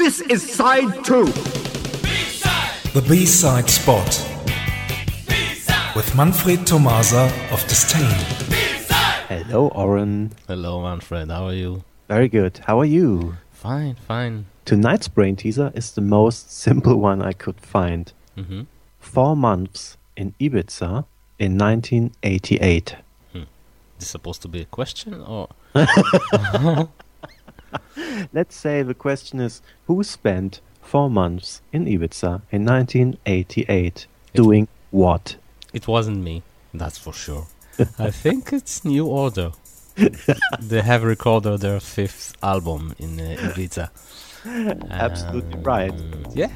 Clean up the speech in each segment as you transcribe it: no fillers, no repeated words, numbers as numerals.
This is side 2. The B-side spot. With Manfred Tomasa of Disdain. Hello, Oren. Hello, Manfred. How are you? Very good. How are you? Fine. Tonight's brain teaser is the most simple one I could find. 4 months in Ibiza in 1988. Is this supposed to be a question or? Let's say the question is, who spent 4 months in Ibiza in 1988 doing what? It wasn't me, that's for sure. I think it's New Order. They have recorded their 5th album in Ibiza. Absolutely right. Yeah.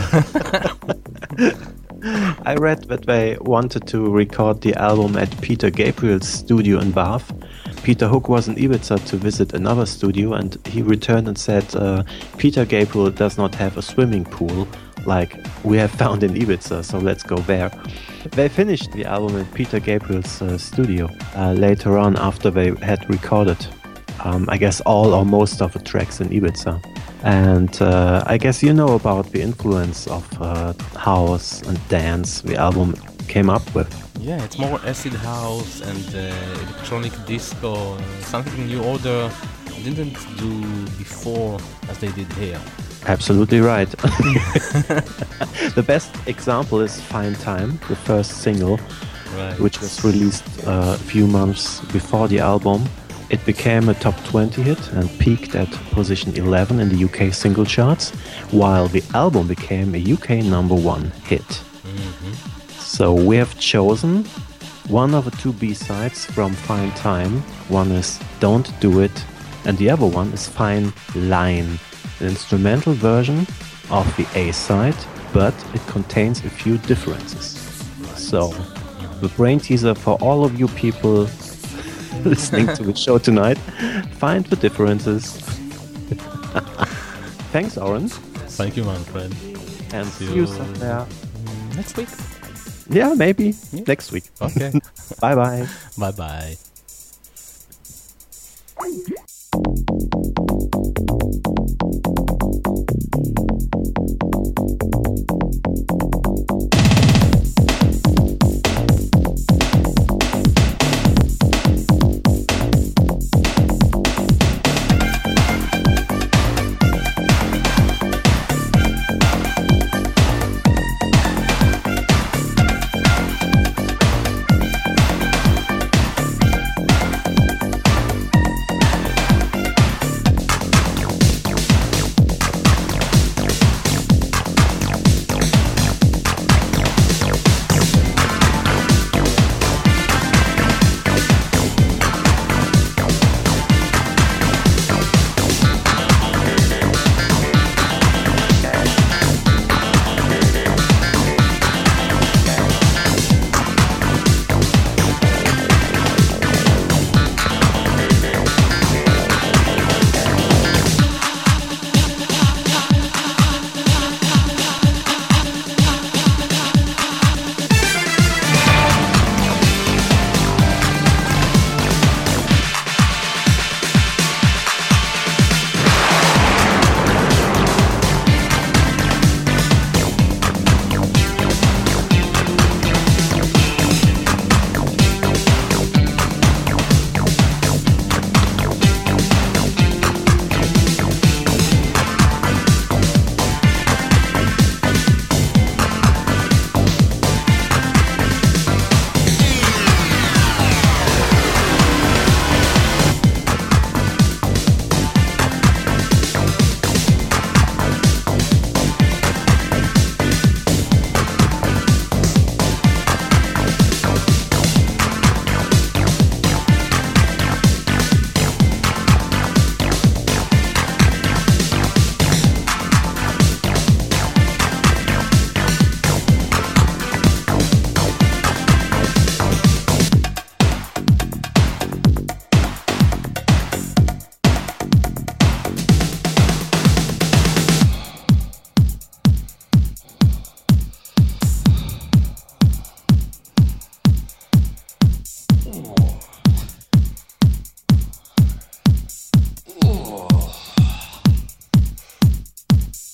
I read that they wanted to record the album at Peter Gabriel's studio in Bath. Peter Hook was in Ibiza to visit another studio, and he returned and said, Peter Gabriel does not have a swimming pool like we have found in Ibiza, so let's go there. They finished the album at Peter Gabriel's studio later on after they had recorded, I guess, all or most of the tracks in Ibiza. And I guess you know about the influence of house and dance the album came up with. Yeah, it's more acid house and electronic disco, something New Order didn't do before as they did here. Absolutely right. The best example is Fine Time, the first single, which was released a few months before the album. It became a top 20 hit and peaked at position 11 in the UK single charts, while the album became a UK number 1 hit. So we have chosen one of the 2 B-sides from Fine Time. One is Don't Do It, and the other one is Fine Line, an instrumental version of the A-side, but it contains a few differences. So, the brain teaser for all of you people listening to the show tonight, find the differences. Thanks, Oren. Thank you, Manfred. And see you somewhere next week. Yeah, maybe next week. Okay. Bye-bye. Bye-bye.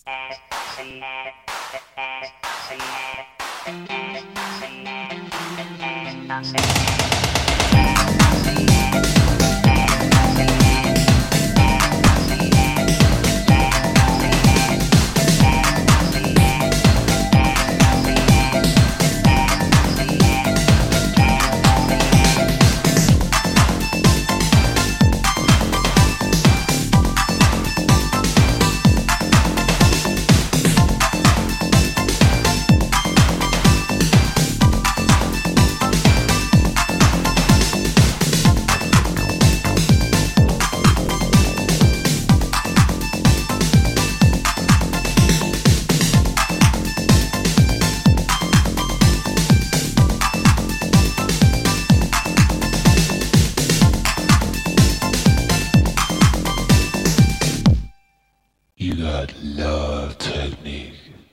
You got love technique.